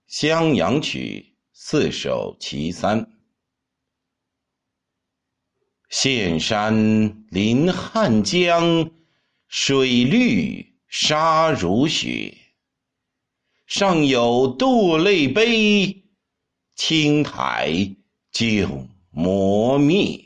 襄阳曲四首其三。岘山临汉江，水绿沙如雪。上有堕泪碑，青苔旧磨灭。